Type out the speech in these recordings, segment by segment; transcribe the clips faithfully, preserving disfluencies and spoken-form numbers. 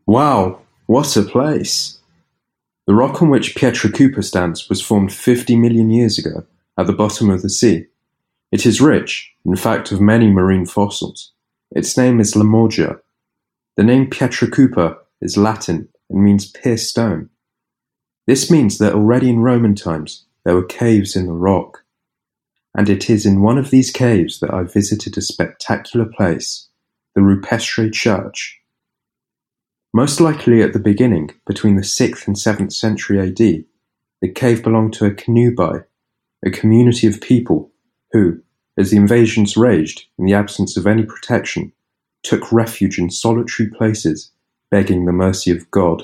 Wow, what a place! The rock on which Pietracupa stands was formed fifty million years ago at the bottom of the sea. It is rich, in fact, of many marine fossils. Its name is Lamorgia. The name Pietracupa is Latin and means pierced stone. This means that already in Roman times there were caves in the rock. And it is in one of these caves that I visited a spectacular place, the Rupestre Church. Most likely at the beginning, between the sixth and seventh century A D, the cave belonged to a Canubi, a community of people who, as the invasions raged in the absence of any protection, took refuge in solitary places, begging the mercy of God.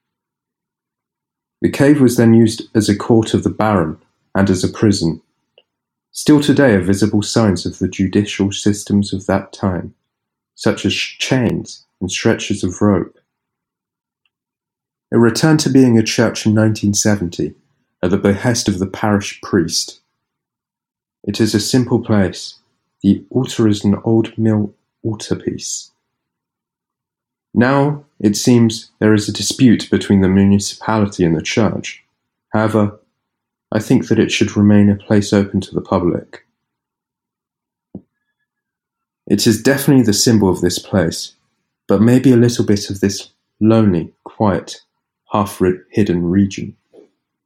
The cave was then used as a court of the baron and as a prison. Still today are visible signs of the judicial systems of that time, such as chains and stretchers of rope. It returned to being a church in nineteen seventy, at the behest of the parish priest. It is a simple place. The altar is an old mill altarpiece. Now, it seems, there is a dispute between the municipality and the church. However, I think that it should remain a place open to the public. It is definitely the symbol of this place, but maybe a little bit of this lonely, quiet, half-hidden region.